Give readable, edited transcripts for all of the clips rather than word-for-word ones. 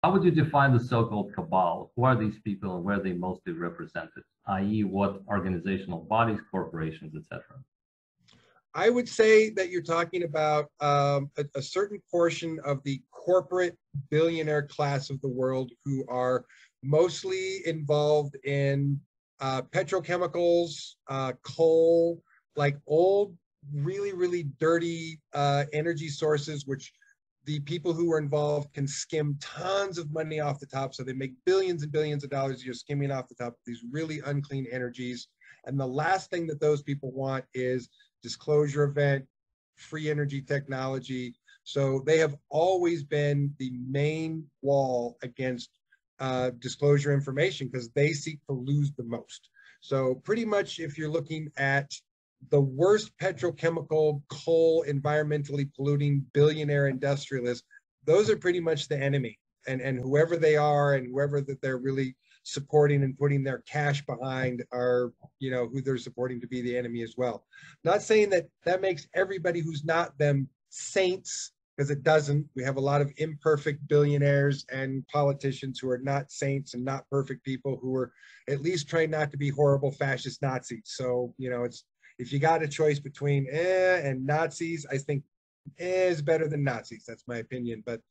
how would you define the so-called cabal? Who are these people and where are they mostly represented, i.e. what organizational bodies, corporations, etc.? I would say that you're talking about a certain portion of the corporate billionaire class of the world who are mostly involved in petrochemicals, coal, like old, really, really dirty energy sources, which the people who are involved can skim tons of money off the top. So they make billions and billions of dollars a year skimming off the top of these really unclean energies. And the last thing that those people want is disclosure event, free energy technology. So they have always been the main wall against disclosure information because they seek to lose the most. So pretty much if you're looking at the worst petrochemical, coal, environmentally polluting billionaire industrialists, those are pretty much the enemy. And whoever they are and whoever that they're really supporting and putting their cash behind are, you know, who they're supporting to be the enemy as well. Not saying that that makes everybody who's not them saints, because it doesn't. We have a lot of imperfect billionaires and politicians who are not saints and not perfect people who are at least trying not to be horrible fascist Nazis. So, you know, it's, if you got a choice between and Nazis, I think is better than Nazis. That's my opinion. But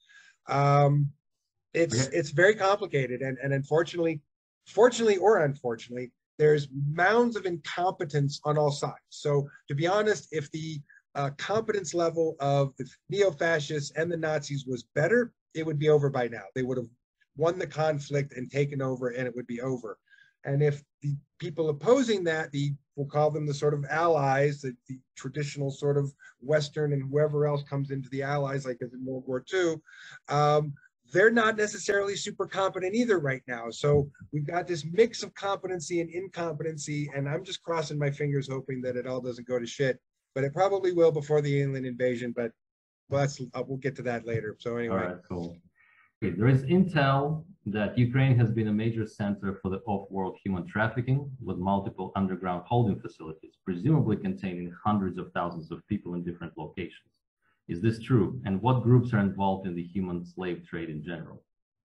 it's very complicated, and unfortunately, fortunately or unfortunately, there's mounds of incompetence on all sides. So to be honest, if the competence level of the neo-fascists and the Nazis was better, it would be over by now. They would have won the conflict and taken over, and it would be over. And if the people opposing that, we'll call them the sort of allies, the traditional sort of Western and whoever else comes into the allies, like as in World War II, they're not necessarily super competent either right now. So we've got this mix of competency and incompetency, and I'm just crossing my fingers hoping that it all doesn't go to shit. But it probably will before the alien invasion, but we'll get to that later. So anyway. All right, cool. Okay, there is intel that Ukraine has been a major center for the off-world human trafficking, with multiple underground holding facilities, presumably containing hundreds of thousands of people in different locations. Is this true? And what groups are involved in the human slave trade in general?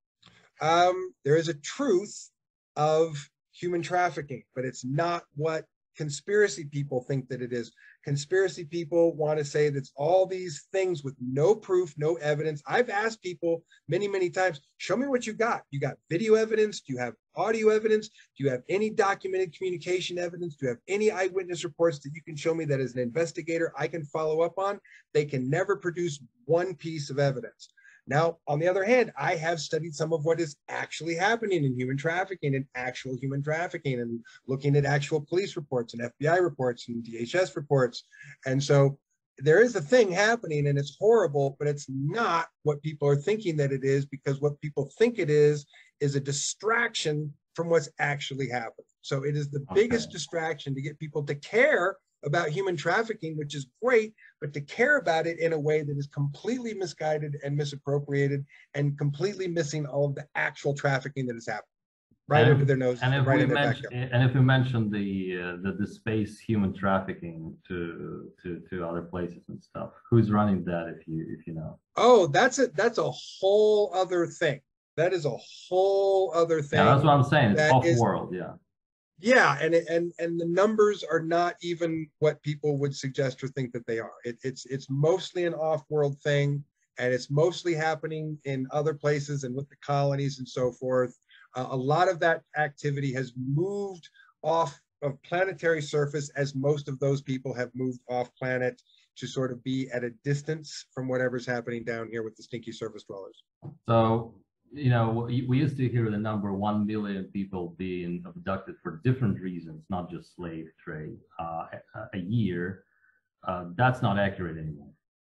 There is a truth of human trafficking, but it's not what conspiracy people think that it is. Conspiracy people want to say that's all these things with no proof, no evidence. I've asked people many, many times, show me what you got. You got video evidence? Do you have audio evidence? Do you have any documented communication evidence? Do you have any eyewitness reports that you can show me that as an investigator I can follow up on? They can never produce one piece of evidence. Now, on the other hand, I have studied some of what is actually happening in human trafficking and actual human trafficking, and looking at actual police reports and FBI reports and DHS reports. And so there is a thing happening, and it's horrible, but it's not what people are thinking that it is, because what people think it is a distraction from what's actually happening. So it is the biggest distraction to get people to care about human trafficking, which is great, but to care about it in a way that is completely misguided and misappropriated and completely missing all of the actual trafficking that is happening right under their noses. And if right we mention the space human trafficking to other places and stuff, who's running that, if you know? Oh, that's a whole other thing. That is a whole other thing. Yeah, that's what I'm saying. It's off-world, yeah. Yeah, and the numbers are not even what people would suggest or think that they are. It's mostly an off-world thing, and it's mostly happening in other places and with the colonies and so forth. A lot of that activity has moved off of planetary surface, as most of those people have moved off planet to sort of be at a distance from whatever's happening down here with the stinky surface dwellers. So, you know, we used to hear the number 1 million people being abducted for different reasons, not just slave trade, a year. That's not accurate anymore.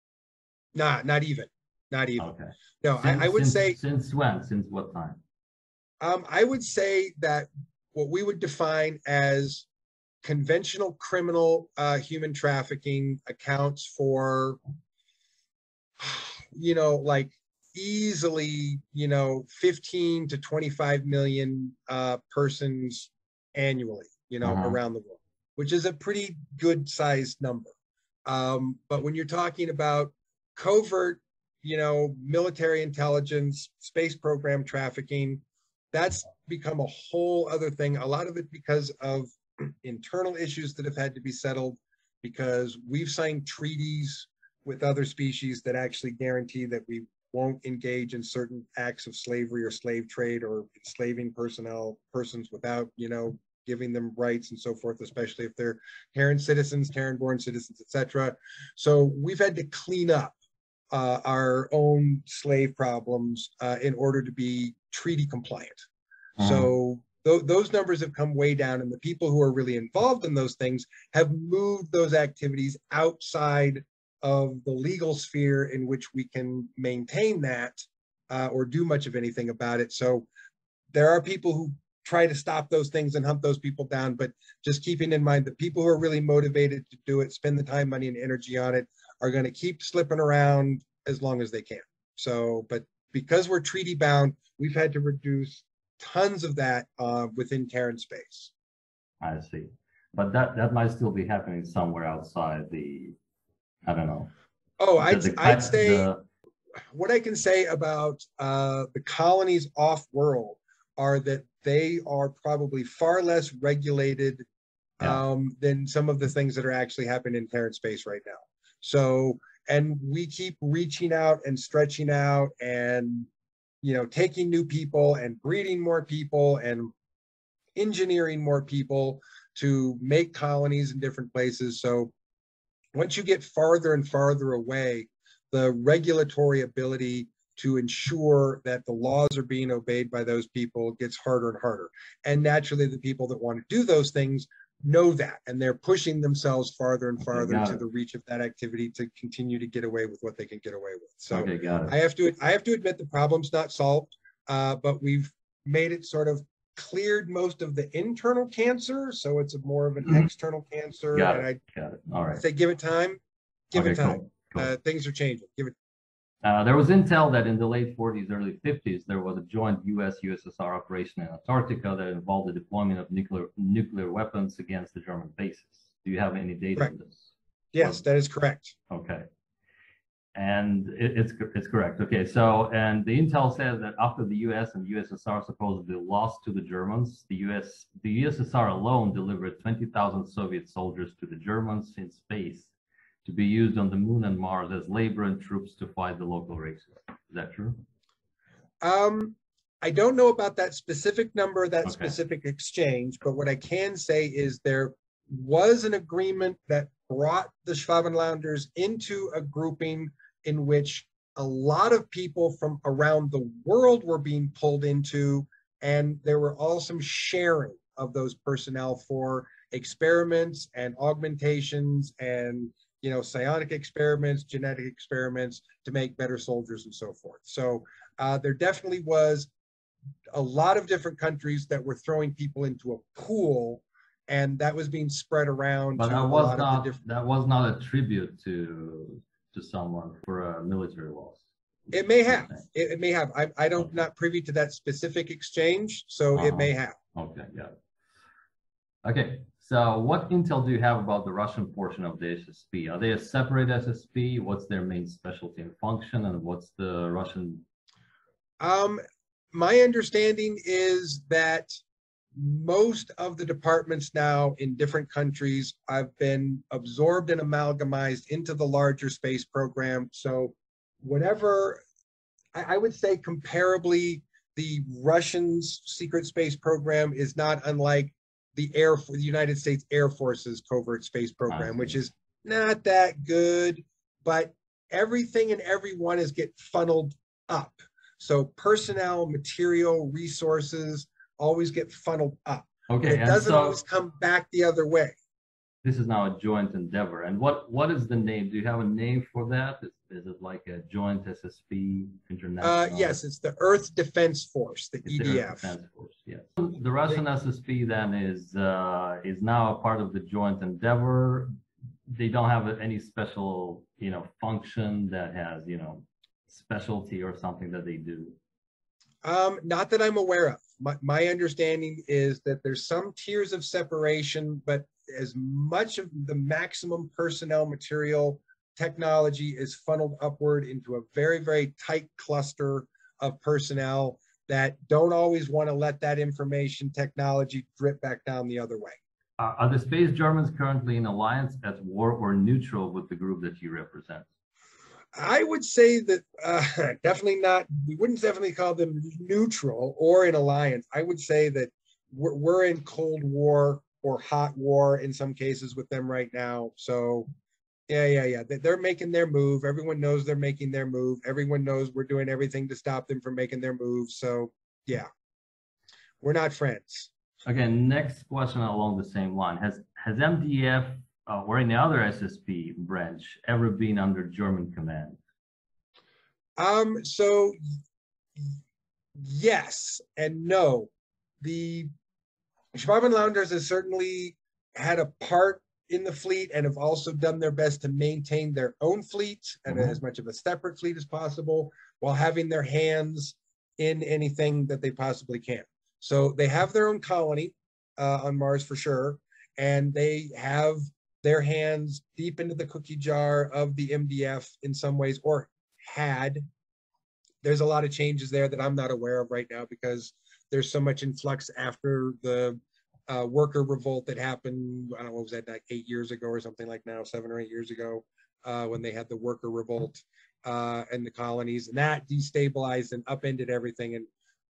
Not even. Okay. No, I would say. Since when? Since what time? I would say that what we would define as conventional criminal human trafficking accounts for, you know, like easily, you know, 15 to 25 million persons annually, you know, around the world, which is a pretty good sized number. But when you're talking about covert military intelligence, space program trafficking. That's become a whole other thing. A lot of it because of internal issues that have had to be settled, because we've signed treaties with other species that actually guarantee that we won't engage in certain acts of slavery or slave trade or enslaving persons without, giving them rights and so forth, especially if they're Terran citizens, Terran-born citizens, etc. So we've had to clean up our own slave problems in order to be treaty compliant. So those numbers have come way down, and the people who are really involved in those things have moved those activities outside of the legal sphere in which we can maintain that or do much of anything about it. So there are people who try to stop those things and hunt those people down, but just keeping in mind that people who are really motivated to do it, spend the time, money, and energy on it, are going to keep slipping around as long as they can. So, but because we're treaty bound, we've had to reduce tons of that within Terran space. I see. But that might still be happening somewhere outside the, I don't know. Oh, I'd say what I can say about the colonies off-world are that they are probably far less regulated than some of the things that are actually happening in Terran space right now. So, and we keep reaching out and stretching out and, taking new people and breeding more people and engineering more people to make colonies in different places. So once you get farther and farther away, the regulatory ability to ensure that the laws are being obeyed by those people gets harder and harder. And naturally, the people that want to do those things know that, and they're pushing themselves farther and farther to the reach of that activity to continue to get away with what they can get away with. So I have to admit the problem's not solved, but we've made it sort of cleared most of the internal cancer, so it's more of an external cancer. Got it. All right. Say give it time. Give it time. Cool. Things are changing. Give it. There was intel that in the late 40s, early 50s, there was a joint US-USSR operation in Antarctica that involved the deployment of nuclear weapons against the German bases. Do you have any data on this? Yes, that is correct. Okay. And it's correct. Okay, so, and the intel says that after the US and USSR supposedly lost to the Germans, the USSR alone delivered 20,000 Soviet soldiers to the Germans in space to be used on the moon and Mars as labor and troops to fight the local races. Is that true? I don't know about that specific number, that specific exchange, but what I can say is there was an agreement that brought the Schwabenlanders into a grouping in which a lot of people from around the world were being pulled into, and there were also sharing of those personnel for experiments and augmentations and psionic experiments, genetic experiments to make better soldiers and so forth. So there definitely was a lot of different countries that were throwing people into a pool, and that was being spread around. But that was not a tribute to someone for a military loss. It may have. It may have. I don't not privy to that specific exchange, so it may have. Okay, got it. Okay, so what intel do you have about the Russian portion of the SSP? Are they a separate SSP? What's their main specialty and function, and what's the Russian? My understanding is that most of the departments now in different countries have been absorbed and amalgamized into the larger space program. So whatever, I would say comparably, the Russians' secret space program is not unlike the United States Air Force's covert space program, which is not that good, but everything and everyone is get funneled up. So personnel, material, resources always get funneled up. Okay, it doesn't always come back the other way. This is now a joint endeavor. And what is the name? Do you have a name for that? Is it like a joint SSP international? Yes, it's the Earth Defense Force, the EDF. The Earth Defense Force, yes. The Russian SSP then is now a part of the joint endeavor. They don't have any special, function that has, specialty or something that they do. Not that I'm aware of. My understanding is that there's some tiers of separation, but as much of the maximum personnel, material, technology is funneled upward into a very, very tight cluster of personnel that don't always want to let that information technology drip back down the other way. Are the space Germans currently in alliance, at war, or neutral with the group that you represent? I would say that definitely not. We wouldn't definitely call them neutral or in alliance. I would say that we're in Cold War or hot war in some cases with them right now. So yeah. They're making their move. Everyone knows they're making their move. Everyone knows we're doing everything to stop them from making their move. So yeah, we're not friends. Again, next question along the same line. Has MDF or any other SSP branch ever been under German command? So yes and no. The Schwabenlanders has certainly had a part in the fleet and have also done their best to maintain their own fleet and as much of a separate fleet as possible while having their hands in anything that they possibly can. So they have their own colony on Mars for sure, and they have their hands deep into the cookie jar of the MDF in some ways, or had. There's a lot of changes there that I'm not aware of right now because there's so much in flux after the worker revolt that happened. I don't know, what was that, like 8 years ago or something like now, 7 or 8 years ago, when they had the worker revolt in the colonies, and that destabilized and upended everything. And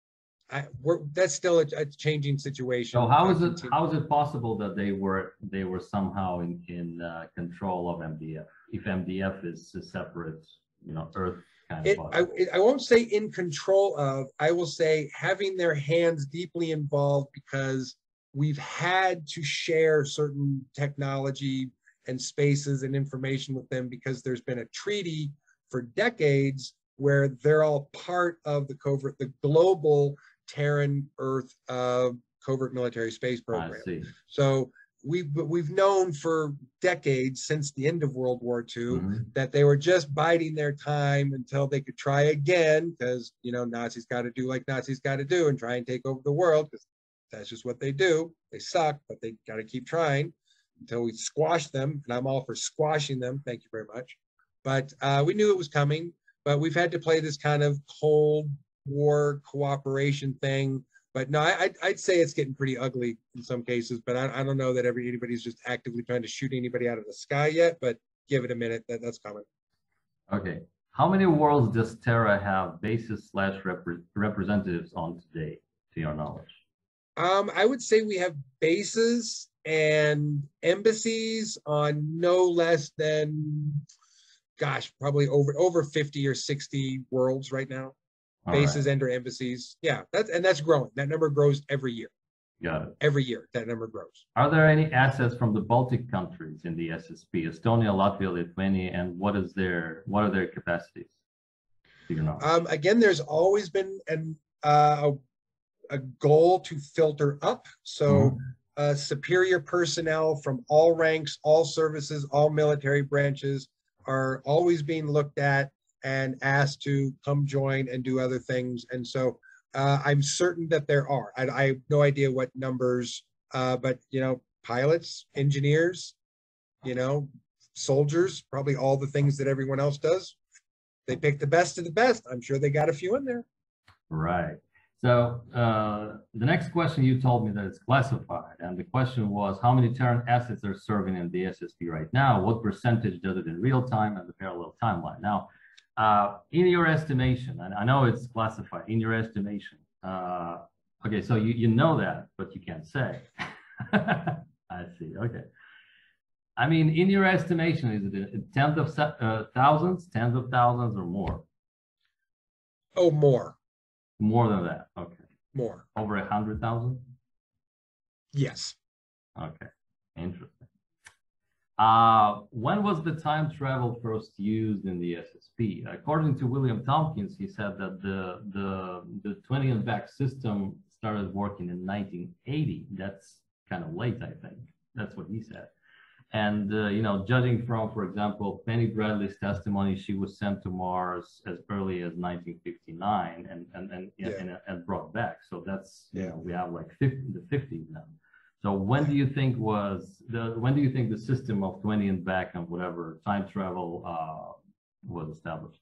that's still a changing situation. So how is it possible that they were somehow in control of MDF if MDF is a separate, Earth kind of body? I won't say in control of. I will say having their hands deeply involved because we've had to share certain technology and spaces and information with them because there's been a treaty for decades where they're all part of the global Terran Earth covert military space program. I see. So we've known for decades since the end of World War II that they were just biding their time until they could try again because Nazis got to do like Nazis got to do and try and take over the world because that's just what they do. They suck, but they got to keep trying until we squash them. And I'm all for squashing them. Thank you very much. But we knew it was coming. But we've had to play this kind of Cold War cooperation thing. But no, I'd say it's getting pretty ugly in some cases. But I don't know that anybody's just actively trying to shoot anybody out of the sky yet. But give it a minute. That's coming. Okay. How many worlds does Terra have bases / representatives on today, to your knowledge? I would say we have bases and embassies on no less than, gosh, probably over 50 or 60 worlds right now. Bases and or embassies. Yeah, that's growing. That number grows every year. Got it. Every year, that number grows. Are there any assets from the Baltic countries in the SSP? Estonia, Latvia, Lithuania, and what are their capacities? Do you know? Again, there's always been a goal to filter up. So superior personnel from all ranks, all services, all military branches are always being looked at and asked to come join and do other things. And so I'm certain that there are. I have no idea what numbers, but pilots, engineers, soldiers, probably all the things that everyone else does. They pick the best of the best. I'm sure they got a few in there. Right. So the next question, you told me that it's classified, and the question was how many Terran assets are serving in the SSP right now? What percentage does it in real time and the parallel timeline? Now, in your estimation, and I know it's classified, in your estimation, okay, so you know that, but you can't say. I see, okay. I mean, in your estimation, is it tens of thousands, tens of thousands, or more? Oh, more. More than that, okay. More. Over 100,000? Yes. Okay, interesting. When was the time travel first used in the SSP? According to William Tompkins, he said that the 20th back system started working in 1980. That's kind of late, I think. That's what he said. And, judging from, for example, Penny Bradley's testimony, she was sent to Mars as early as 1959 and brought back. So that's, we have like the 50s now. So when do you think the system of 20 and back and whatever time travel was established?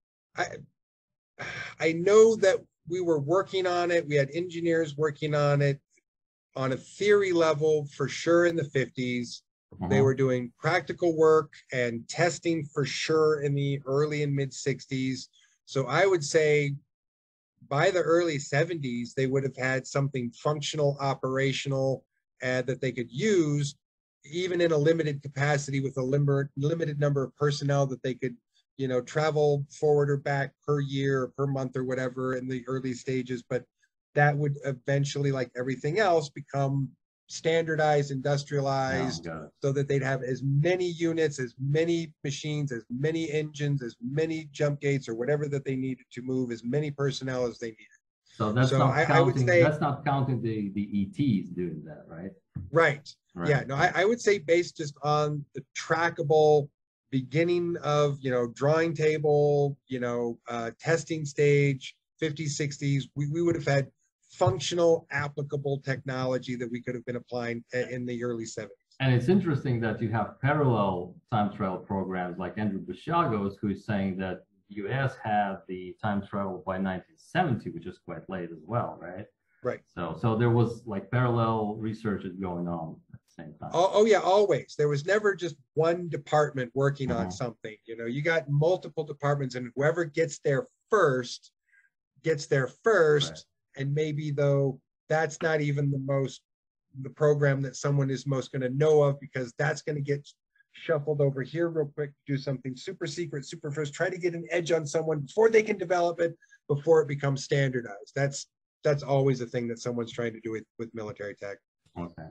I know that we were working on it. We had engineers working on it on a theory level for sure in the 50s. They were doing practical work and testing for sure in the early and mid 60s. So I would say by the early 70s, they would have had something functional, operational, that they could use, even in a limited capacity with a limited number of personnel that they could, you know, travel forward or back per year or per month or whatever in the early stages. But that would eventually, like everything else, become standardized, industrialized, so that they'd have as many units, as many machines, as many engines, as many jump gates or whatever that they needed to move, as many personnel as they needed. So that's I would say that's not counting the ETs doing that, right? Right. Yeah. No, I would say based just on the trackable beginning of, you know, drawing table, you know, testing stage, 50s, 60s, we would have had functional, applicable technology that we could have been applying in the early 70s. And it's interesting that you have parallel time travel programs like Andrew Basiagos, who is saying that US had the time travel by 1970, which is quite late as well, right? Right. So there was like parallel research going on at the same time. Oh yeah, always. There was never just one department working on something. You know, you got multiple departments, and whoever gets there first gets there first. Right. And maybe though that's not even the program that someone is most going to know of, because that's going to get shuffled over here real quick, do something super secret, super first, try to get an edge on someone before they can develop it, before it becomes standardized. That's always a thing that someone's trying to do with military tech. Okay.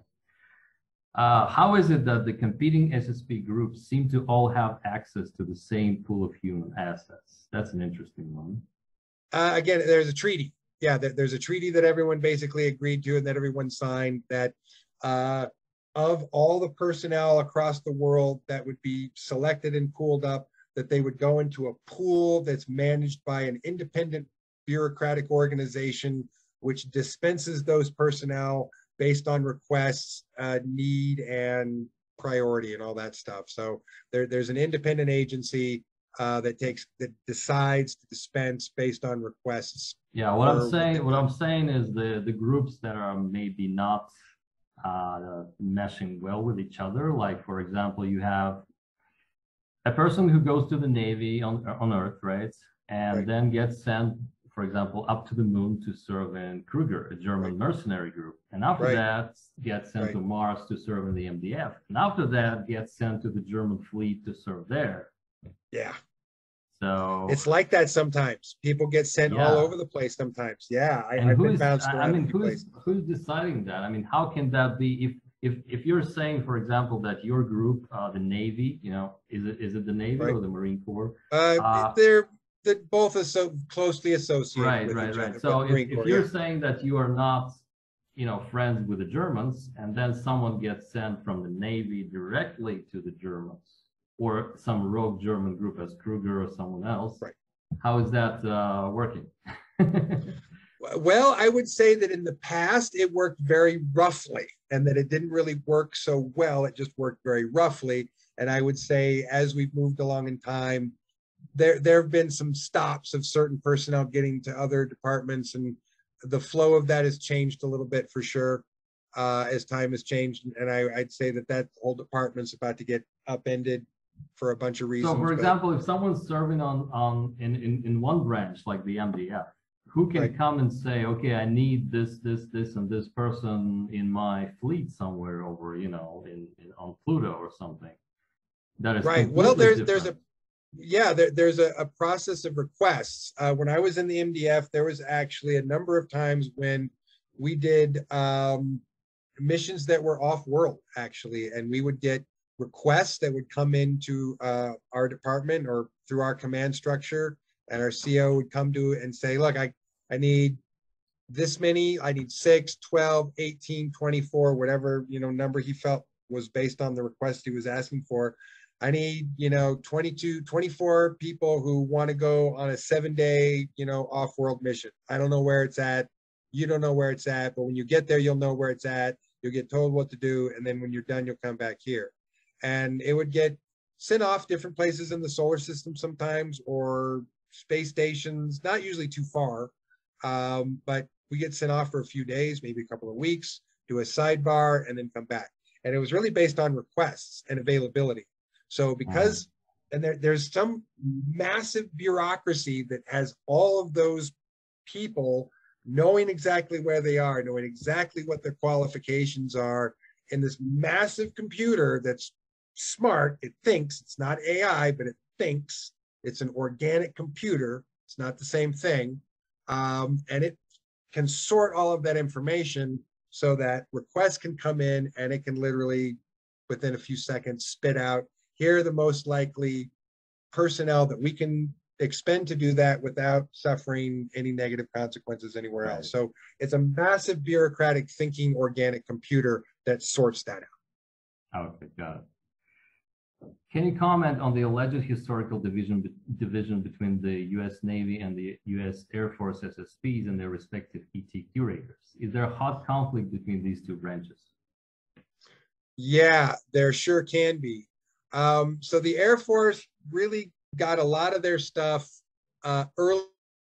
How is it that the competing SSP groups seem to all have access to the same pool of human assets? That's an interesting one. Again, there's a treaty. Yeah, there's a treaty that everyone basically agreed to and that everyone signed, that of all the personnel across the world that would be selected and pooled up, that they would go into a pool that's managed by an independent bureaucratic organization, which dispenses those personnel based on requests, need, and priority and all that stuff. So there's an independent agency that decides to dispense based on requests. Yeah, what I'm saying is the groups that are maybe not meshing well with each other. Like, for example, you have a person who goes to the Navy on Earth, right? And then gets sent, for example, up to the moon to serve in Kruger, a German mercenary group. And after that, gets sent to Mars to serve in the MDF. And after that, gets sent to the German fleet to serve there. Yeah. So it's like that sometimes. People get sent all over the place sometimes. Yeah. I've been bounced around. I mean, who's deciding that? I mean, how can that be if you're saying, for example, that your group, the Navy, you know, is it the Navy or the Marine Corps? They're both so closely associated. Right. So if you're saying that you are not, you know, friends with the Germans, and then someone gets sent from the Navy directly to the Germans, or some rogue German group as Kruger or someone else, how is that working? Well, I would say that in the past it worked very roughly, and that it didn't really work so well. It just worked very roughly. And I would say as we've moved along in time, there have been some stops of certain personnel getting to other departments, and the flow of that has changed a little bit for sure as time has changed. And I'd say that whole department's about to get upended for a bunch of reasons. So, for example, if someone's serving in one branch like the MDF, who can come and say, okay, I need this, and this person in my fleet somewhere over, you know, on Pluto or something? That is well, there's a process of requests. When I was in the MDF, there was actually a number of times when we did missions that were off-world, actually, and we would get requests that would come into our department or through our command structure, and our CO would come to and say, look, I need this many, I need 6, 12, 18, 24, whatever, you know, number he felt was based on the request he was asking for. I need, you know, 22, 24 people who want to go on a 7-day, you know, off-world mission. I don't know where it's at. You don't know where it's at, but when you get there, you'll know where it's at. you'll get told what to do, and then when you're done, you'll come back here. And it would get sent off different places in the solar system sometimes, or space stations, not usually too far, but we get sent off for a few days, maybe a couple of weeks, do a sidebar, and then come back. And it was really based on requests and availability. So because, and there's some massive bureaucracy that has all of those people knowing exactly where they are, knowing exactly what their qualifications are in this massive computer that's smart. It thinks, it's not AI, but it thinks. It's an organic computer. It's not the same thing. And it can sort all of that information so that requests can come in, and it can literally, within a few seconds, spit out, here are the most likely personnel that we can expend to do that without suffering any negative consequences anywhere else. So it's a massive bureaucratic thinking organic computer that sorts that out. Okay, got it. Can you comment on the alleged historical division between the U.S. Navy and the U.S. Air Force SSPs and their respective ET curators? Is there a hot conflict between these two branches? Yeah, there sure can be. So the Air Force really got a lot of their stuff early,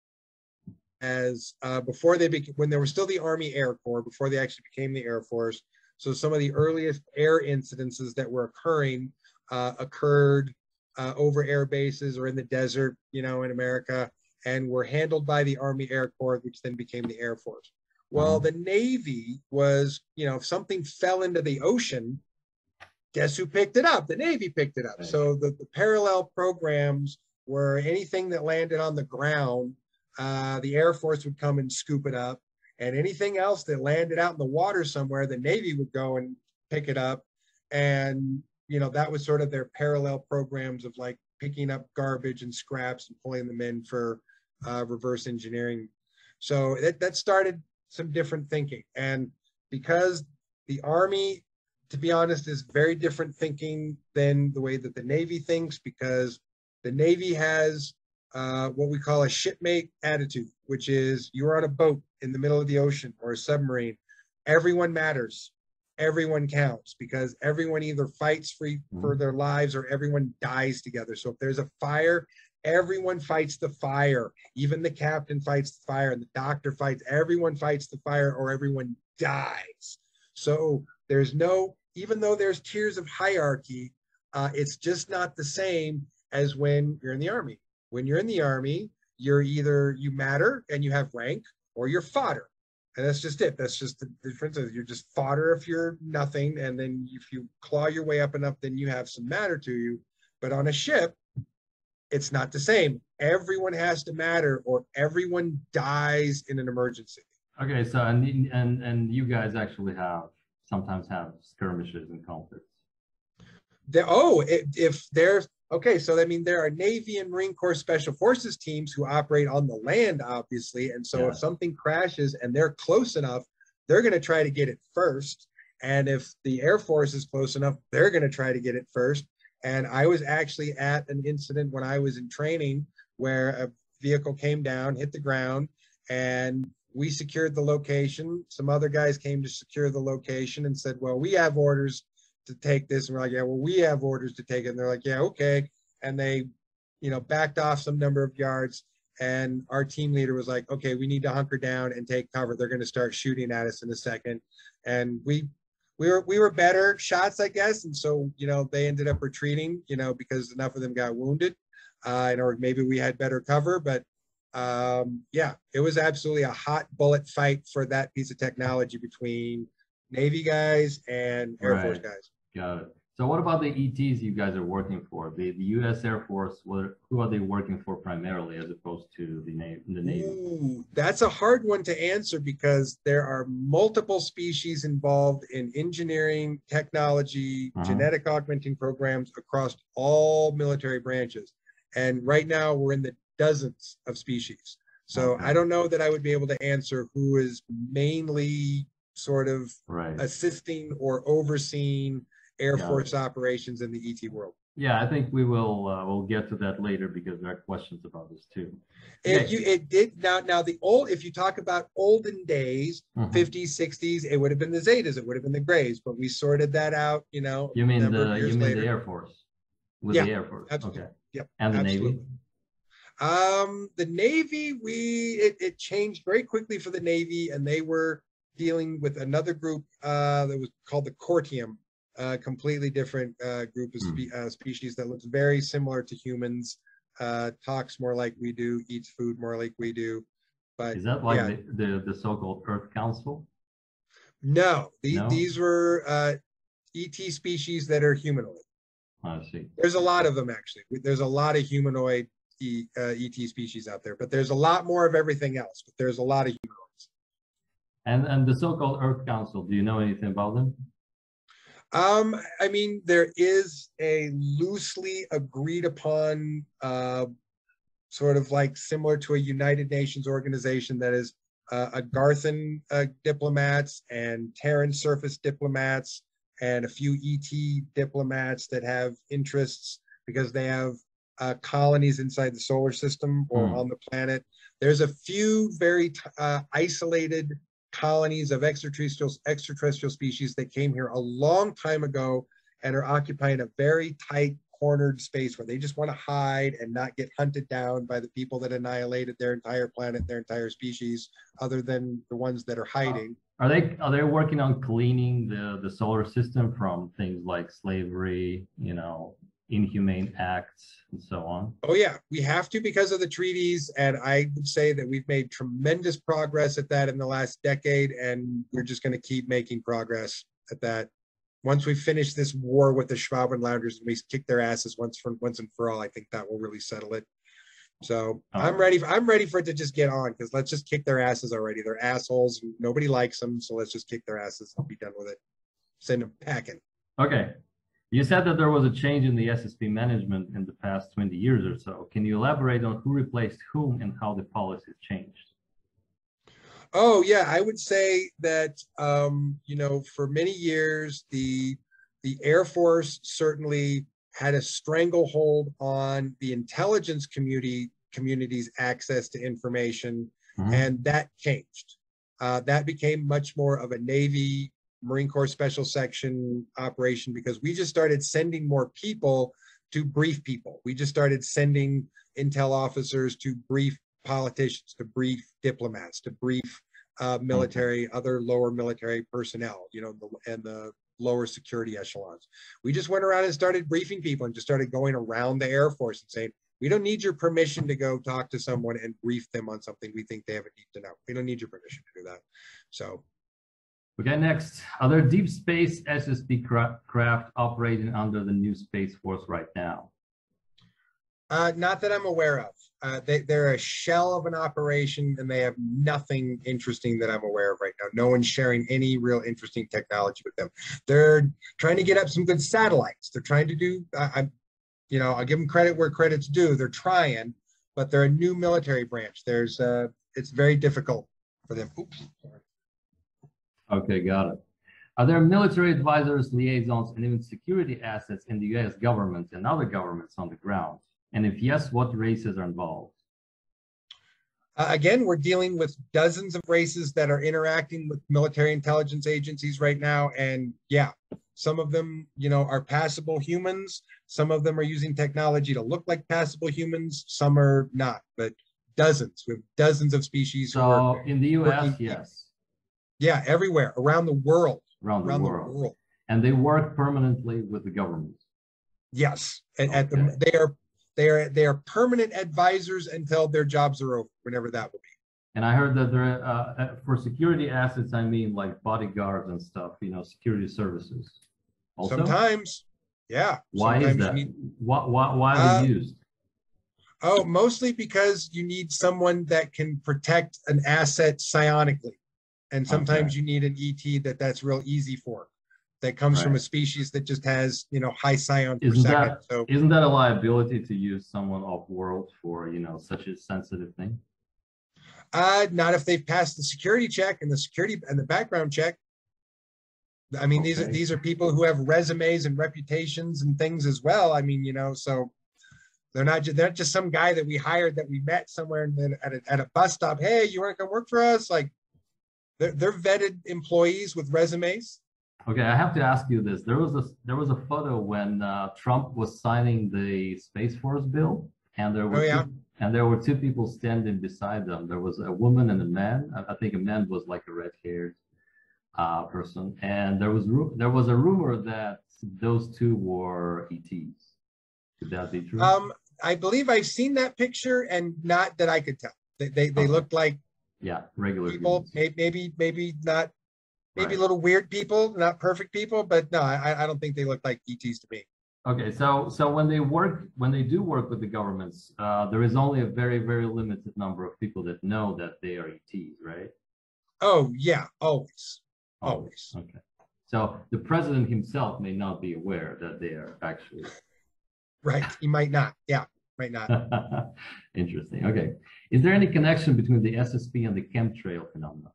as before they became, when there was still the Army Air Corps, before they actually became the Air Force. So some of the earliest air incidences that were occurring occurred over air bases or in the desert, you know, in America, and were handled by the Army Air Corps, which then became the Air Force. Well, the Navy was, you know, if something fell into the ocean, guess who picked it up? The Navy picked it up. Right. So the parallel programs were anything that landed on the ground, the Air Force would come and scoop it up. And anything else that landed out in the water somewhere, the Navy would go and pick it up. And, you know, that was sort of their parallel programs of like picking up garbage and scraps and pulling them in for reverse engineering. So that started some different thinking. And because the Army, to be honest, is very different thinking than the way that the Navy thinks, because the Navy has what we call a shipmate attitude, which is you're on a boat in the middle of the ocean or a submarine. Everyone matters. Everyone counts, because everyone either fights for their lives or everyone dies together. So if there's a fire, everyone fights the fire. Even the captain fights the fire, and the doctor fights. Everyone fights the fire or everyone dies. So there's no, even though there's tiers of hierarchy, it's just not the same as when you're in the Army. When you're in the Army, you're either, you matter and you have rank, or you're fodder. And that's just it. That's just the difference. You're just fodder if you're nothing. And then if you claw your way up enough, then you have some matter to you. But on a ship, it's not the same. Everyone has to matter, or everyone dies in an emergency. Okay, so and you guys actually sometimes have skirmishes and conflicts. If there's, okay, so I mean, there are Navy and Marine Corps Special Forces teams who operate on the land, obviously. And so if something crashes and they're close enough, they're going to try to get it first. And if the Air Force is close enough, they're going to try to get it first. And I was actually at an incident when I was in training where a vehicle came down, hit the ground, and we secured the location. Some other guys came to secure the location and said, well, we have orders to take this. And we're like, yeah, well, we have orders to take it. And they're like, yeah, okay. And they, you know, backed off some number of yards. And our team leader was like, okay, we need to hunker down and take cover. They're going to start shooting at us in a second. And we were better shots, I guess. And so, you know, they ended up retreating, you know, because enough of them got wounded, or maybe we had better cover. But yeah, it was absolutely a hot bullet fight for that piece of technology between Navy guys and Air Force guys. Got it. So what about the ETs you guys are working for? The U.S. Air Force, who are they working for primarily, as opposed to the Navy? Ooh, that's a hard one to answer, because there are multiple species involved in engineering, technology, genetic augmenting programs across all military branches. And right now we're in the dozens of species. So I don't know that I would be able to answer who is mainly sort of assisting or overseeing Air Force operations in the ET world. Yeah, I think we will we'll get to that later because there are questions about this too. If Okay. you it did now the old if you talk about olden days, Mhm. 50s, 60s, it would have been the Zetas, it would have been the Grays, but we sorted that out, You a mean number of the years later. Air Force? With Yeah, the Air Force. absolutely. Okay. Yep, And the Navy? absolutely. The Navy, it changed very quickly for the Navy, and they were dealing with another group that was called the Cortium, a completely different group of Hmm. species that looks very similar to humans, talks more like we do, eats food more like we do. But Is that like yeah, the so-called Earth Council? no, No? these were ET species that are humanoid. I see. There's a lot of them actually. There's a lot of humanoid ET species out there, but there's a lot more of everything else. But there's a lot of humanoids. And the so-called Earth Council, do you know anything about them? I mean, there is a loosely agreed upon sort of like similar to a United Nations organization that is a Garthan diplomats and Terran surface diplomats and a few ET diplomats that have interests because they have colonies inside the solar system or Hmm. on the planet. There's a few very isolated colonies of extraterrestrial species that came here a long time ago and are occupying a very tight cornered space where they just want to hide and not get hunted down by the people that annihilated their entire planet, their entire species, other than the ones that are hiding. Are they working on cleaning the solar system from things like slavery, inhumane acts, and so on? Oh yeah, we have to because of the treaties, and I would say that we've made tremendous progress at that in the last decade, and we're just going to keep making progress at that. Once we finish this war with the Schwabenlanders and we kick their asses once and for all, I think that will really settle it. So All I'm right. ready. I'm ready for it to just get on because let's just kick their asses already. They're assholes. Nobody likes them, so let's just kick their asses and be done with it. Send them packing. Okay. You said that there was a change in the SSP management in the past 20 years or so. Can you elaborate on who replaced whom and how the policies changed? Oh yeah, I would say that for many years the Air Force certainly had a stranglehold on the intelligence community's access to information, Mhm. and that changed. That became much more of a Navy Marine Corps Special Section operation because we just started sending more people to brief people. We just started sending intel officers to brief politicians, to brief diplomats, to brief Okay. military, other lower military personnel, and the lower security echelons. We just went around and started briefing people and just started going around the Air Force and saying, we don't need your permission to go talk to someone and brief them on something we think they have a need to know. We don't need your permission to do that. So Okay, next. Are there deep space SSP craft operating under the new Space Force right now? not that I'm aware of. They're a shell of an operation and they have nothing interesting that I'm aware of right now. No one's sharing any real interesting technology with them. They're trying to get up some good satellites. They're trying to do, I'll give them credit where credit's due. They're trying, but they're a new military branch. It's very difficult for them. Oops. Sorry. Okay, got it. Are there military advisors, liaisons, and even security assets in the US government and other governments on the ground? And if yes, what races are involved? Again, we're dealing with dozens of races that are interacting with military intelligence agencies right now. And yeah, some of them, are passable humans. Some of them are using technology to look like passable humans. Some are not, but dozens. We have dozens of species who are So in the US, working. yes, Yeah, everywhere around the world. around the Around the world. world. And they work permanently with the government. Yes, Okay. they are permanent advisors until their jobs are over, whenever that will be. And I heard that there, for security assets, I mean like bodyguards and stuff, security services. Also, Sometimes, yeah, why is sometimes you that? need. Why are they Uh, used? oh, mostly because you need someone that can protect an asset psionically, and Okay, sometimes you need an ET that's real easy for, that comes from right. a species that just has high psions per Isn't second. that So isn't that a liability to use someone off world for such a sensitive thing? not if they've passed the security check and the security and the background check. I mean, Okay. these are people who have resumes and reputations and things as well. I mean, so they're not just some guy that we hired that we met somewhere at a bus stop. Hey, you want to come work for us? Like they're vetted employees with resumes. Okay, I have to ask you this. There was a photo when Trump was signing the Space Force bill, and Oh yeah. there were two people standing beside them. There was a woman and a man. I think a man was like a red-haired person, and there was a rumor that those two were ETs. Could that be true? I believe I've seen that picture, and not that I could tell. They Okay. looked like Yeah, regular people, humans. maybe not, maybe a Right. little weird people, not perfect people, but no, I don't think they look like ETs to me. Okay, so when they do work with the governments, there is only a very limited number of people that know that they are ETs, right? Oh yeah, always, Always. always. Okay. So the president himself may not be aware that they are actually Right. He might not. Yeah, might not. interesting. Okay. Is there any connection between the SSP and the chemtrail phenomenon?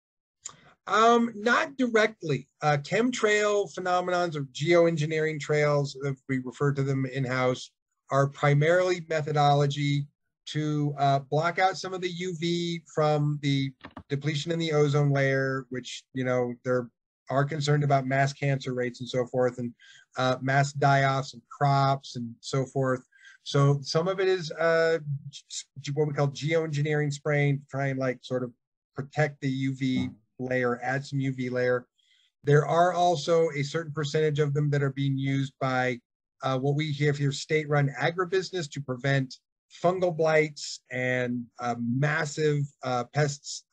Not directly. Chemtrail phenomenons or geoengineering trails, if we refer to them in-house, are primarily methodology to block out some of the UV from the depletion in the ozone layer, which, they're are concerned about mass cancer rates and so forth, and mass die-offs of crops and so forth. So some of it is what we call geoengineering spraying to try and like sort of protect the UV layer, add some UV layer. There are also a certain percentage of them that are being used by what we have here, state-run agribusiness to prevent fungal blights and massive pests,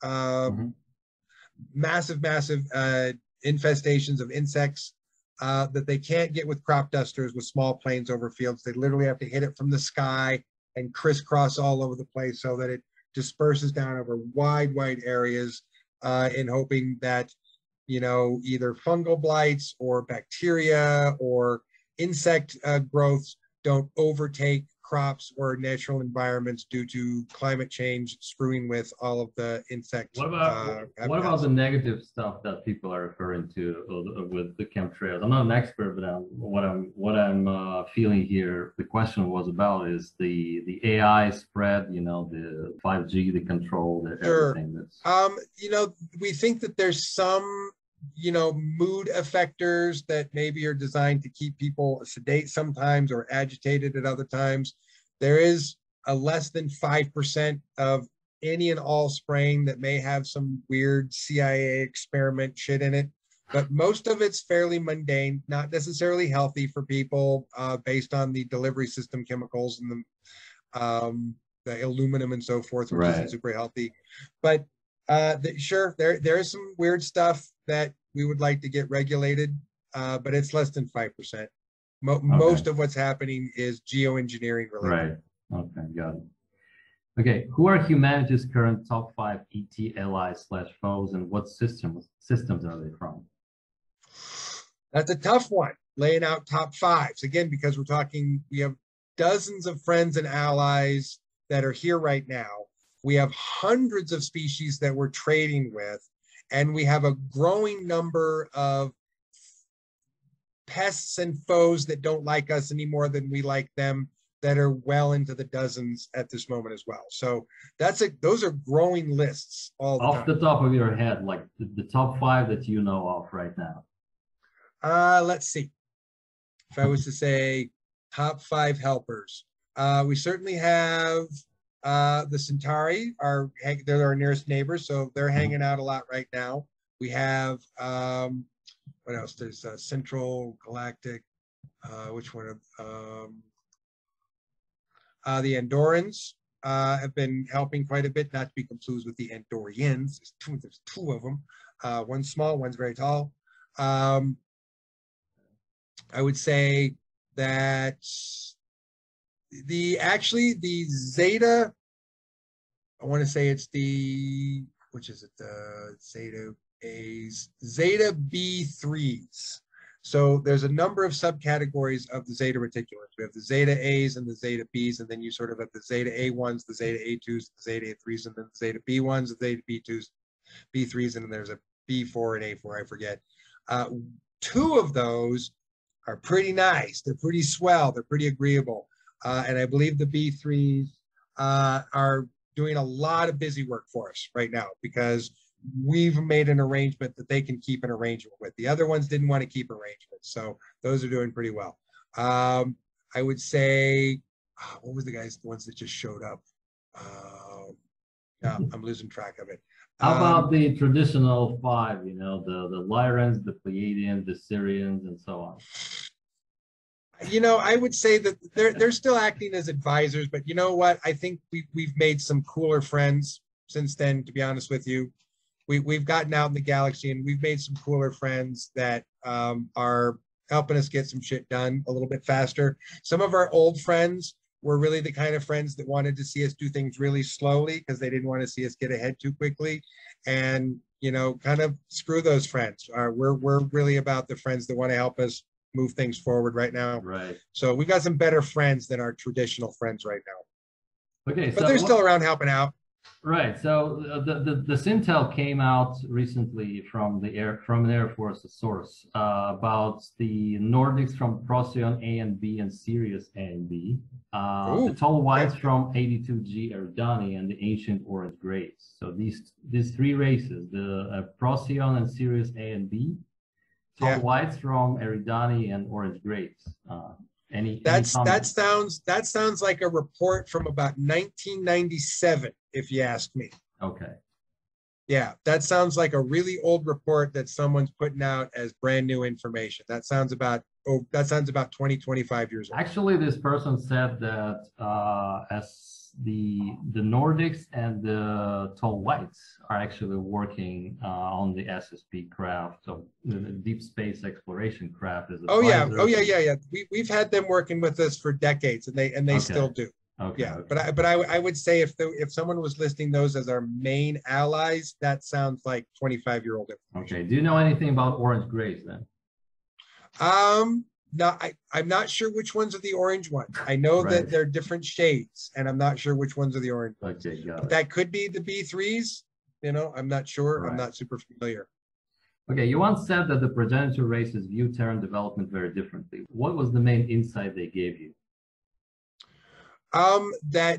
massive infestations of insects that they can't get with crop dusters with small planes over fields. They literally have to hit it from the sky and crisscross all over the place so that it disperses down over wide areas in hoping that, either fungal blights or bacteria or insect growths don't overtake crops or natural environments due to climate change screwing with all of the insect What about the negative stuff that people are referring to with the chemtrails? I'm not an expert, but what I'm feeling here, the question was about is the AI spread, the 5G, the control, the Sure. everything that's We think that there's some, mood effectors that maybe are designed to keep people sedate sometimes or agitated at other times. There is a less than 5% of any and all spraying that may have some weird CIA experiment shit in it. But most of it's fairly mundane, not necessarily healthy for people based on the delivery system chemicals and the aluminum and so forth, which isn't super healthy. But sure, there is some weird stuff that we would like to get regulated, but it's less than 5%. Most of what's happening is geoengineering related. Right. Okay, got it. Okay, who are humanity's current top 5 ET allies/foes, and what systems are they from? That's a tough one, laying out top 5s. Again, because we have dozens of friends and allies that are here right now. We have hundreds of species that we're trading with, and we have a growing number of pests and foes that don't like us any more than we like them, that are well into the dozens at this moment as well. So those are growing lists all the time. Off the top of your head, like the top 5 that you know of right now. Let's see. If I was to say top 5 helpers, we certainly have the Centauri. They're our nearest neighbors, so they're hanging out a lot right now. We have what else? There's Central Galactic. Which one? The Andorans have been helping quite a bit, not to be confused with the Andorians. There's two of them. One's small, one's very tall. I would say that the Zeta, I want to say it's the, which is it? The Zeta A's, Zeta B3s. So there's a number of subcategories of the Zeta reticulans. We have the Zeta A's and the Zeta B's, and then you sort of have the Zeta A1s, the Zeta A2s, the Zeta A3s, and then the Zeta B1s, the Zeta B2s, B3s, and then there's a B4 and A4, I forget. Uh, Two of those are pretty nice. They're pretty swell. They're pretty agreeable. And I believe the B3s are doing a lot of busy work for us right now because we've made an arrangement that they can keep an arrangement with. The other ones didn't want to keep arrangements. So those are doing pretty well. I would say, what was the ones that just showed up? Yeah, I'm losing track of it. How about the traditional five, you know, the Lyrans, the Pleiadians, the Syrians, and so on? You know, I would say that they're still acting as advisors, but you know what? I think we've made some cooler friends since then, to be honest with you. We've gotten out in the galaxy and we've made some cooler friends that are helping us get some shit done a little bit faster. Some of our old friends were really the kind of friends that wanted to see us do things really slowly because they didn't want to see us get ahead too quickly. And, you know, kind of screw those friends. We're really about the friends that want to help us move things forward right now. Right. So we've got some better friends than our traditional friends right now. Okay. But they're still around helping out. Right. So the Sintel came out recently from the Air Force source about the Nordics from Procyon A and B and Sirius A and B, the tall whites from 82G Eridani and the ancient orange grays. So these three races, the Procyon and Sirius A and B, tall whites from Eridani and orange grays. That sounds like a report from about 1997, if you ask me. Okay. Yeah, that sounds like a really old report that someone's putting out as brand new information. That sounds about 20, 25 years old. Actually, this person said that as the Nordics and the tall whites are actually working on the SSP craft, so the deep space exploration craft. Yeah. We've had them working with us for decades, and they still do. Okay. Yeah, okay. But I would say if someone was listing those as our main allies, that sounds like 25-year-old information. Okay. Do you know anything about orange grays then? No, I'm not sure which ones are the orange ones. I know that they're different shades, and I'm not sure which ones are the orange ones. Okay, got it. That could be the B3s. You know, I'm not sure. Right. I'm not super familiar. Okay, you once said that the progenitor races view Terran development very differently. What was the main insight they gave you? That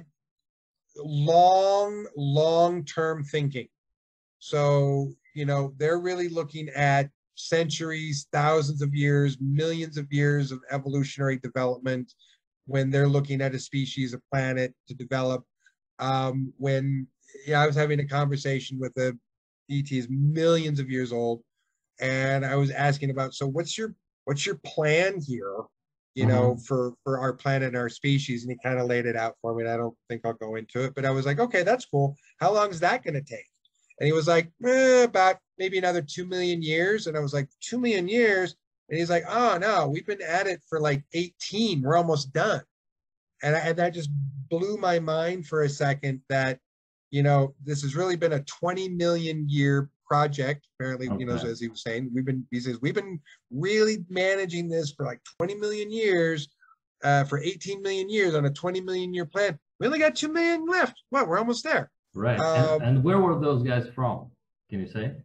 long-term thinking. So, you know, they're really looking at centuries, thousands of years, millions of years of evolutionary development when they're looking at a species, a planet to develop. When I was having a conversation with a ET is millions of years old, and I was asking about, so what's your plan here, you know, for our planet and our species? And he kind of laid it out for me, and I don't think I'll go into it, but I was like, okay, that's cool. How long is that going to take? And he was like, about maybe another 2 million years. And I was like, 2 million years? And he's like, oh, no, we've been at it for like 18. We're almost done. And that just blew my mind for a second that, you know, this has really been a 20 million year project. Apparently, you know, as he was saying, he says, we've been really managing this for like 20 million years, for 18 million years on a 20 million year plan. We only got 2 million left. Well, we're almost there. Right. And where were those guys from? Can you say?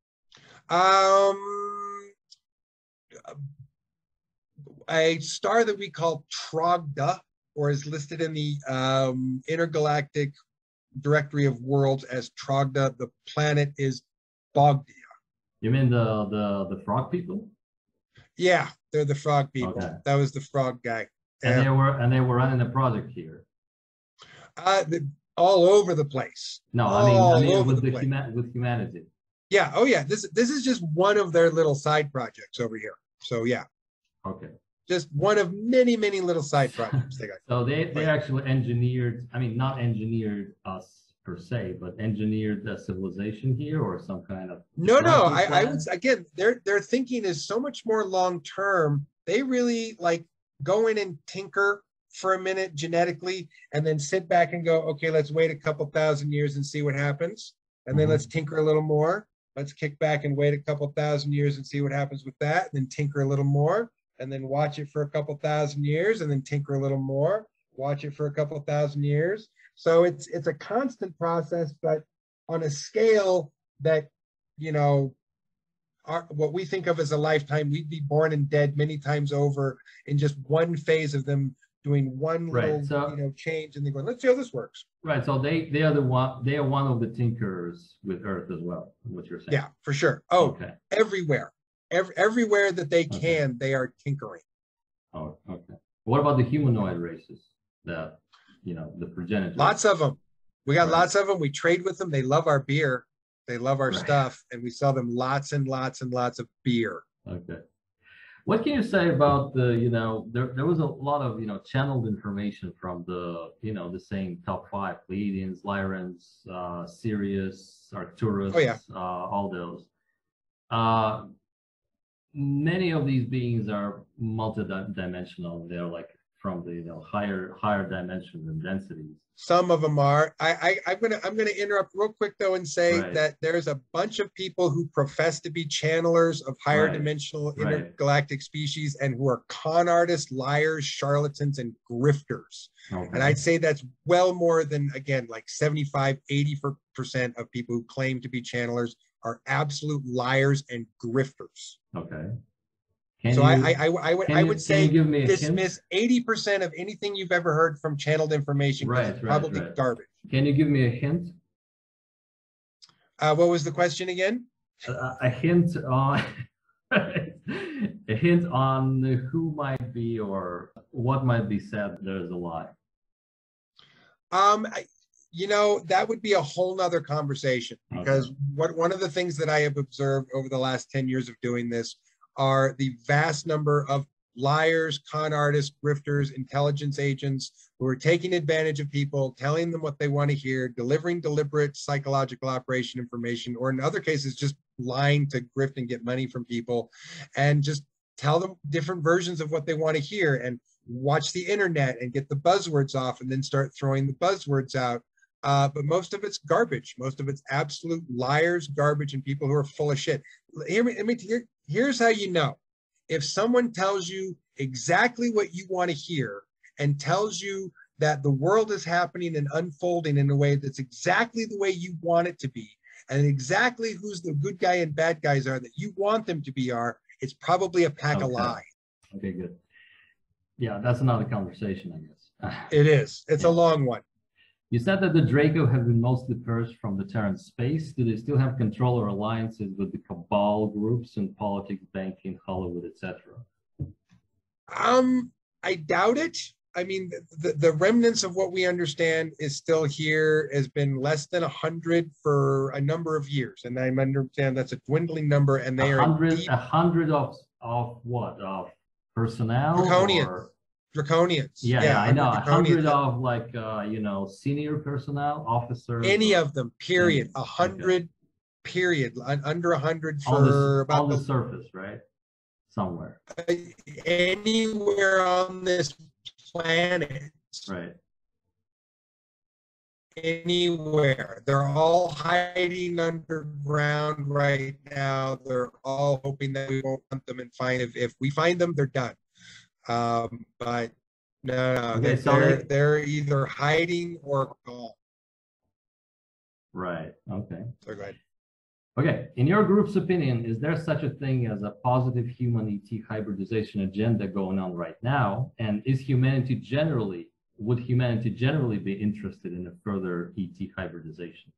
A star that we call Trogda, or is listed in the Intergalactic Directory of Worlds as Trogda. The planet is Bogdia. You mean the frog people? Yeah, they're the frog people. Okay. That was the frog guy. And they were running a project here. All over the place. No, I mean with humanity. Yeah. Oh, yeah. This is just one of their little side projects over here. So yeah. Okay. Just one of many, many little side projects they got. So they actually engineered. I mean, not engineered us per se, but engineered the civilization here, or some kind of. No. I would, again, their thinking is so much more long term. They really like go in and tinker for a minute genetically, and then sit back and go, okay, let's wait a couple thousand years and see what happens. And then let's tinker a little more. Let's kick back and wait a couple thousand years and see what happens with that. And then tinker a little more, and then watch it for a couple thousand years, and then tinker a little more, watch it for a couple thousand years. So it's a constant process, but on a scale that, you know, what we think of as a lifetime, we'd be born and dead many times over in just one phase of them doing one little, change, and then going, let's see how this works. Right. So they are one of the tinkerers with Earth as well. What you're saying? Yeah, for sure. Oh, okay. Everywhere, everywhere that they can, they are tinkering. Oh, okay. What about the humanoid races? The progenitors. Lots of them. We got lots of them. We trade with them. They love our beer. They love our stuff, and we sell them lots and lots and lots of beer. Okay. What can you say about the, there was a lot of, channeled information from the same top 5, Pleiadians, Lyrans, Sirius, Arcturus, all those. Many of these beings are multidimensional. They're like from the higher dimensions and densities. Some of them are. I'm gonna interrupt real quick though and say that there's a bunch of people who profess to be channelers of higher dimensional intergalactic species and who are con artists, liars, charlatans, and grifters. Okay. And I'd say that's well more than, again, like 75–80% of people who claim to be channelers are absolute liars and grifters. Okay. I would say dismiss 80% of anything you've ever heard from channeled information. It's probably garbage. Can you give me a hint? What was the question again? A hint on a hint on who might be or what might be said there's a lie. That would be a whole nother conversation, because one of the things that I have observed over the last 10 years of doing this are the vast number of liars, con artists, grifters, intelligence agents who are taking advantage of people, telling them what they want to hear, delivering deliberate psychological operation information, or in other cases, just lying to grift and get money from people, and just tell them different versions of what they want to hear, and watch the internet and get the buzzwords off and then start throwing the buzzwords out. But most of it's garbage. Most of it's absolute liars, garbage, and people who are full of shit. Here's how you know. If someone tells you exactly what you want to hear and tells you that the world is happening and unfolding in a way that's exactly the way you want it to be, and exactly who's the good guy and bad guys are that you want them to be it's probably a pack of lies. Okay, good. Yeah, that's another conversation, I guess. It is. It's a long one. You said that the Draco have been mostly purged from the Terran space. Do they still have control or alliances with the cabal groups in politics, banking, Hollywood, etc.? I doubt it. I mean, the remnants of what we understand is still here, has been less than 100 for a number of years. And I understand that's a dwindling number, and they 100 of what? Of personnel? Draconians. Draconians. Yeah, I know. 100 of like, senior personnel, officers. Any of them, period. 100, period. Under 100 for on the surface, right? Somewhere. Anywhere on this planet. Right. Anywhere. They're all hiding underground right now. They're all hoping that we won't hunt them and find. If we find them, they're done. But no, okay, they're either hiding or gone. Right. Okay. So go ahead. Okay. In your group's opinion, is there such a thing as a positive human ET hybridization agenda going on right now? And would humanity generally be interested in a further ET hybridization?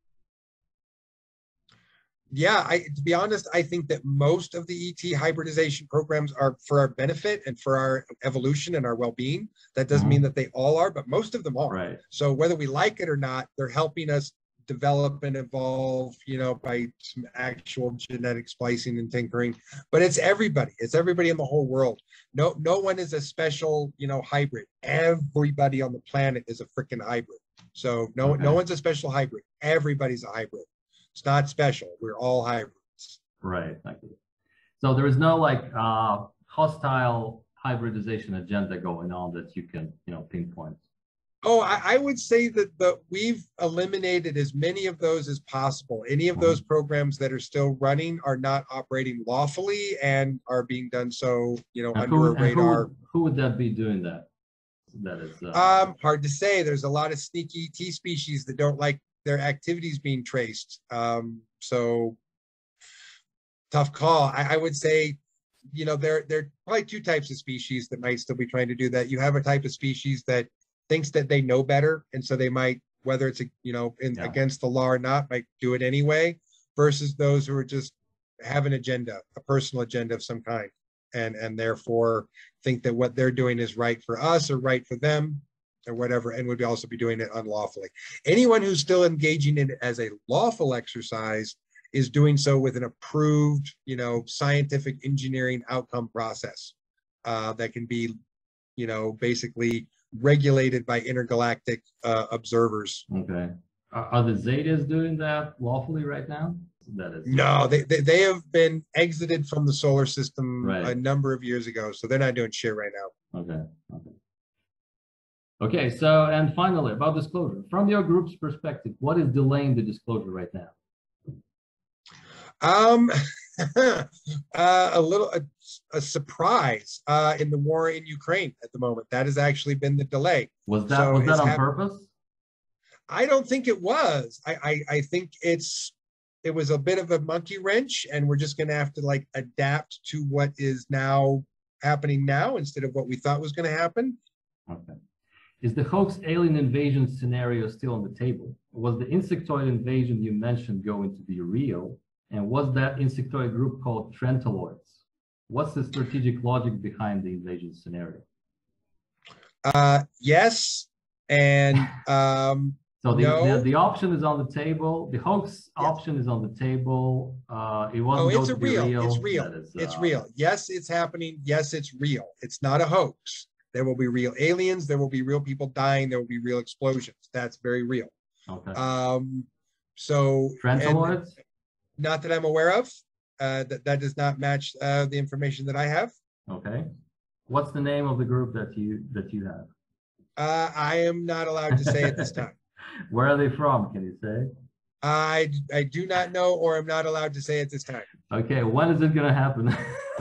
Yeah, to be honest, I think that most of the ET hybridization programs are for our benefit and for our evolution and our well-being. That doesn't mean that they all are, but most of them are. Right. So whether we like it or not, they're helping us develop and evolve, by some actual genetic splicing and tinkering. But it's everybody. It's everybody in the whole world. No one is a special, hybrid. Everybody on the planet is a freaking hybrid. So no one's a special hybrid. Everybody's a hybrid. It's not special. We're all hybrids. Right. So there is no hostile hybridization agenda going on that you can, pinpoint. Oh, I would say that we've eliminated as many of those as possible. Any of those programs that are still running are not operating lawfully and are being done so, under a radar. Who would that be doing that? That is hard to say. There's a lot of sneaky ET species that don't like their activities being traced. So Tough call. I would say, there are probably two types of species that might still be trying to do that. You have a type of species that thinks that they know better, and so they might, whether it's Yeah. against the law or not, might do it anyway. Versus those who are just have an agenda, a personal agenda of some kind, and therefore think that what they're doing is right for us or right for them or whatever, and would also be doing it unlawfully. Anyone who's still engaging in it as a lawful exercise is doing so with an approved, scientific engineering outcome process that can be, basically regulated by intergalactic observers. Okay. Are the Zetas doing that lawfully right now? That is No, they have been exited from the solar system Right. a number of years ago, so they're not doing shit right now. Okay. Okay. So, and finally, about disclosure, from your group's perspective, what is delaying the disclosure right now? A surprise in the war in Ukraine at the moment. That has actually been the delay. Was that on purpose? I don't think it was. I think it was a bit of a monkey wrench, and we're just going to have to adapt to what is now happening now instead of what we thought was going to happen. Okay. Is the hoax alien invasion scenario still on the table? Was the insectoid invasion you mentioned going to be real? And was that insectoid group called Trentaloids? What's the strategic logic behind the invasion scenario? Yes, and so no. The option is on the table. The hoax option is on the table. It wasn't going to be real. It's real. It's real. Yes, it's happening. Yes, it's real. It's not a hoax. There will be real aliens. There will be real people dying. There will be real explosions. That's very real. Okay. So Trentaloids? Not that I'm aware of. That does not match the information that I have. Okay. What's the name of the group that you have? I am not allowed to say at this time. Where are they from? Can you say? I do not know, or I'm not allowed to say at this time. Okay. When is it going to happen?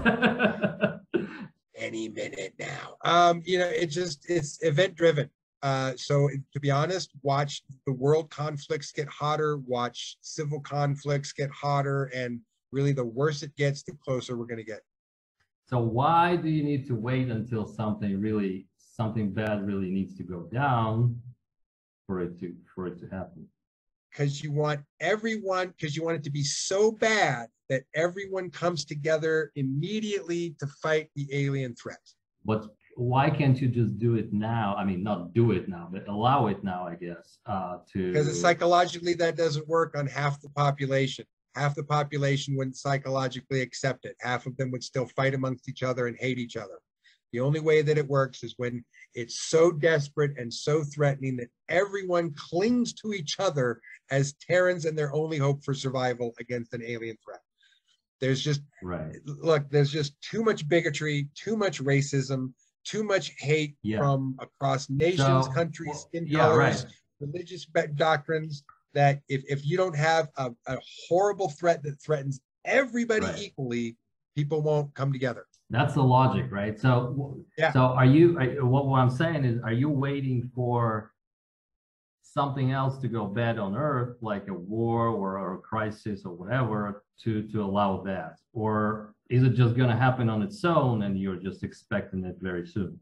Any minute now. It's event driven. So to be honest, watch the world conflicts get hotter, watch civil conflicts get hotter, and really the worse it gets, the closer we're going to get. So why do you need to wait until something bad really needs to go down for it to happen? Because you want it to be so bad that everyone comes together immediately to fight the alien threat. But why can't you just do it now? I mean, not do it now, but allow it now, I guess, because psychologically that doesn't work on half the population. Half the population wouldn't psychologically accept it. Half of them would still fight amongst each other and hate each other. The only way that it works is when it's so desperate and so threatening that everyone clings to each other as Terrans and their only hope for survival against an alien threat. There's just too much bigotry, too much racism, too much hate from across nations, countries, skin colors, religious doctrines, that if you don't have a horrible threat that threatens everybody equally, people won't come together. That's the logic, right? So, so what I'm saying is, are you waiting for something else to go bad on Earth, like a war or a crisis or whatever, to allow that? Or is it just going to happen on its own and you're just expecting it very soon?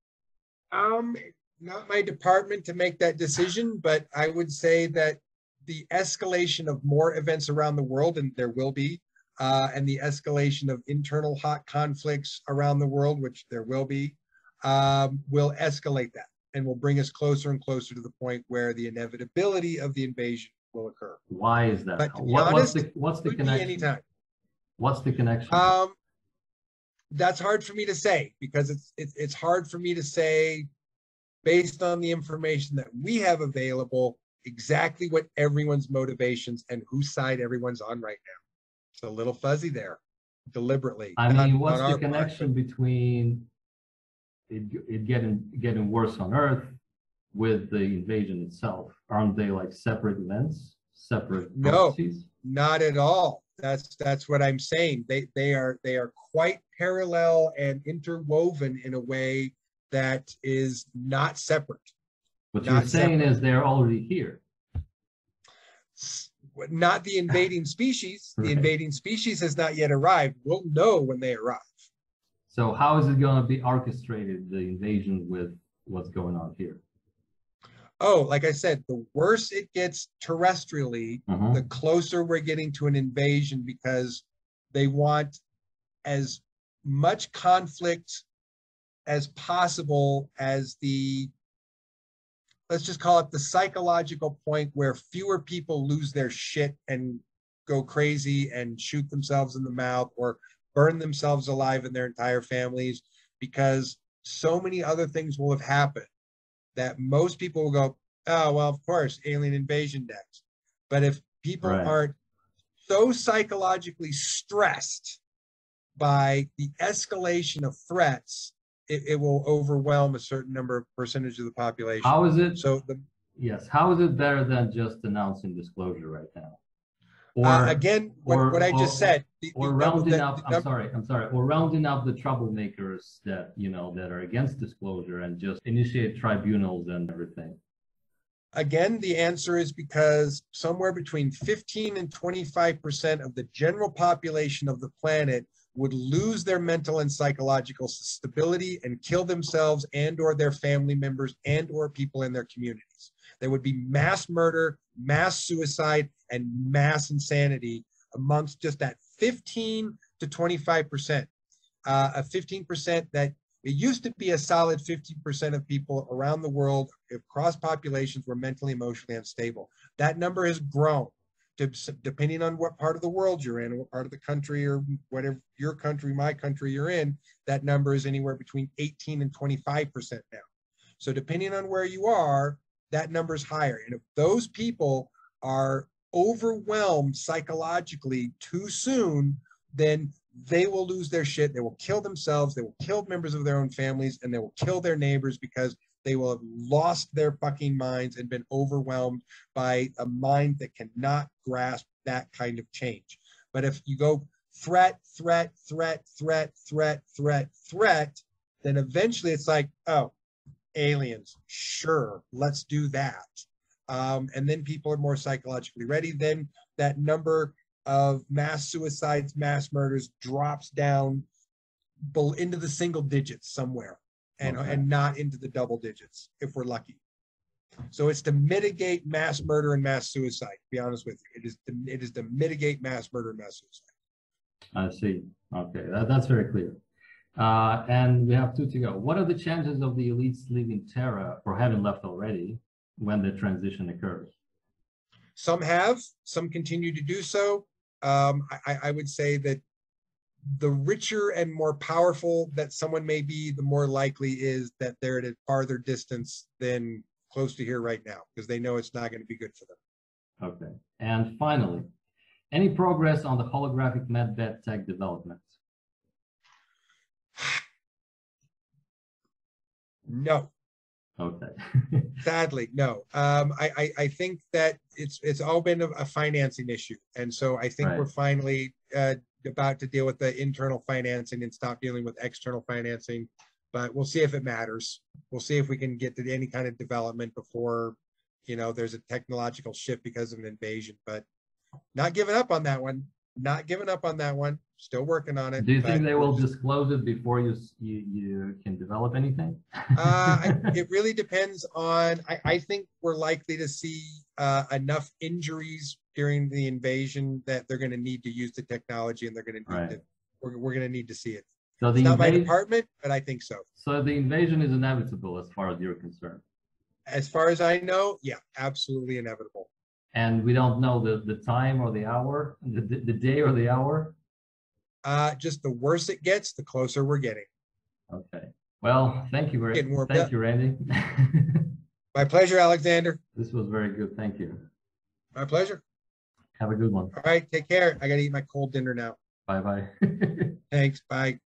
Not my department to make that decision, but I would say that the escalation of more events around the world, and there will be, and the escalation of internal hot conflicts around the world, which there will be, will escalate that and will bring us closer and closer to the point where the inevitability of the invasion will occur. Why is that? But to be honest, what's the connection? Anytime. What's the connection? That's hard for me to say, because it's hard for me to say based on the information that we have available exactly what everyone's motivations and whose side everyone's on right now. It's a little fuzzy there, deliberately. I mean, what's the connection between it getting worse on Earth with the invasion itself? Aren't they like separate events, separate processes? No, not at all. That's what I'm saying. They are quite parallel and interwoven in a way that is not separate. What you're saying is they're already here. Not the invading species. The Right. invading species has not yet arrived. We'll know when they arrive. So how is it going to be orchestrated, the invasion, with what's going on here? Oh, like I said, the worse it gets terrestrially, the Mhm. closer we're getting to an invasion, because they want as much conflict as possible as the, let's just call it the psychological point where fewer people lose their shit and go crazy and shoot themselves in the mouth or burn themselves alive and their entire families, because so many other things will have happened that most people will go, oh, well, of course, alien invasion next. But if people Right. aren't so psychologically stressed by the escalation of threats, it will overwhelm a certain number of percentage of the population. How is it? So the Yes. How is it better than just announcing disclosure right now? Or again, or what I just or said, or rounding up, I'm sorry, or rounding up the troublemakers that, that are against disclosure and just initiate tribunals and everything. again, the answer is because somewhere between 15 and 25% of the general population of the planet would lose their mental and psychological stability and kill themselves and or their family members and or people in their communities. There would be mass murder, mass suicide, and mass insanity amongst just that 15 to 25%. A 15% that it used to be a solid 15% of people around the world across populations were mentally, emotionally unstable. That number has grown to, depending on what part of the world you're in, what part of the country or whatever your country, my country you're in, that number is anywhere between 18 and 25% now. So depending on where you are, that number is higher. And if those people are overwhelmed psychologically too soon, then they will lose their shit. They will kill themselves. They will kill members of their own families, and they will kill their neighbors because they will have lost their fucking minds and been overwhelmed by a mind that cannot grasp that kind of change. But if you go threat, threat, threat, threat, threat, threat, threat, then eventually it's like, oh, aliens, sure, let's do that. And then people are more psychologically ready. Then that number of mass suicides, mass murders drops down into the single digits somewhere, and not into the double digits if we're lucky. So it's to mitigate mass murder and mass suicide. To be honest with you, it is to mitigate mass murder and mass suicide. I see. Okay, that's very clear. And we have two to go. What are the chances of the elites leaving Terra or having left already when the transition occurs? Some have, some continue to do so. I would say that the richer and more powerful that someone may be, the more likely is that they're at a farther distance than close to here right now, because they know it's not going to be good for them. Okay. And finally, any progress on the holographic medbed tech development? No. Okay. Sadly, no. I think that it's all been a financing issue, and so I think we're finally about to deal with the internal financing and stop dealing with external financing. But we'll see if it matters. We'll see if we can get to any kind of development before, there's a technological shift because of an invasion. But not giving up on that one. Not giving up on that one. Still working on it. Do you think they will disclose it before you can develop anything? It really depends on, I think we're likely to see enough injuries during the invasion that they're going to need to use the technology, and they're going to need to, we're going to need to see it. So it's not my department, but I think so. So the invasion is inevitable as far as you're concerned? As far as I know, yeah, absolutely inevitable. And we don't know the time or the hour, the day or the hour? Just the worse it gets, the closer we're getting. Okay. Well, thank you thank you, Randy. My pleasure, Alexander. This was very good. Thank you. My pleasure. Have a good one. All right. Take care. I got to eat my cold dinner now. Bye-bye. Thanks. Bye.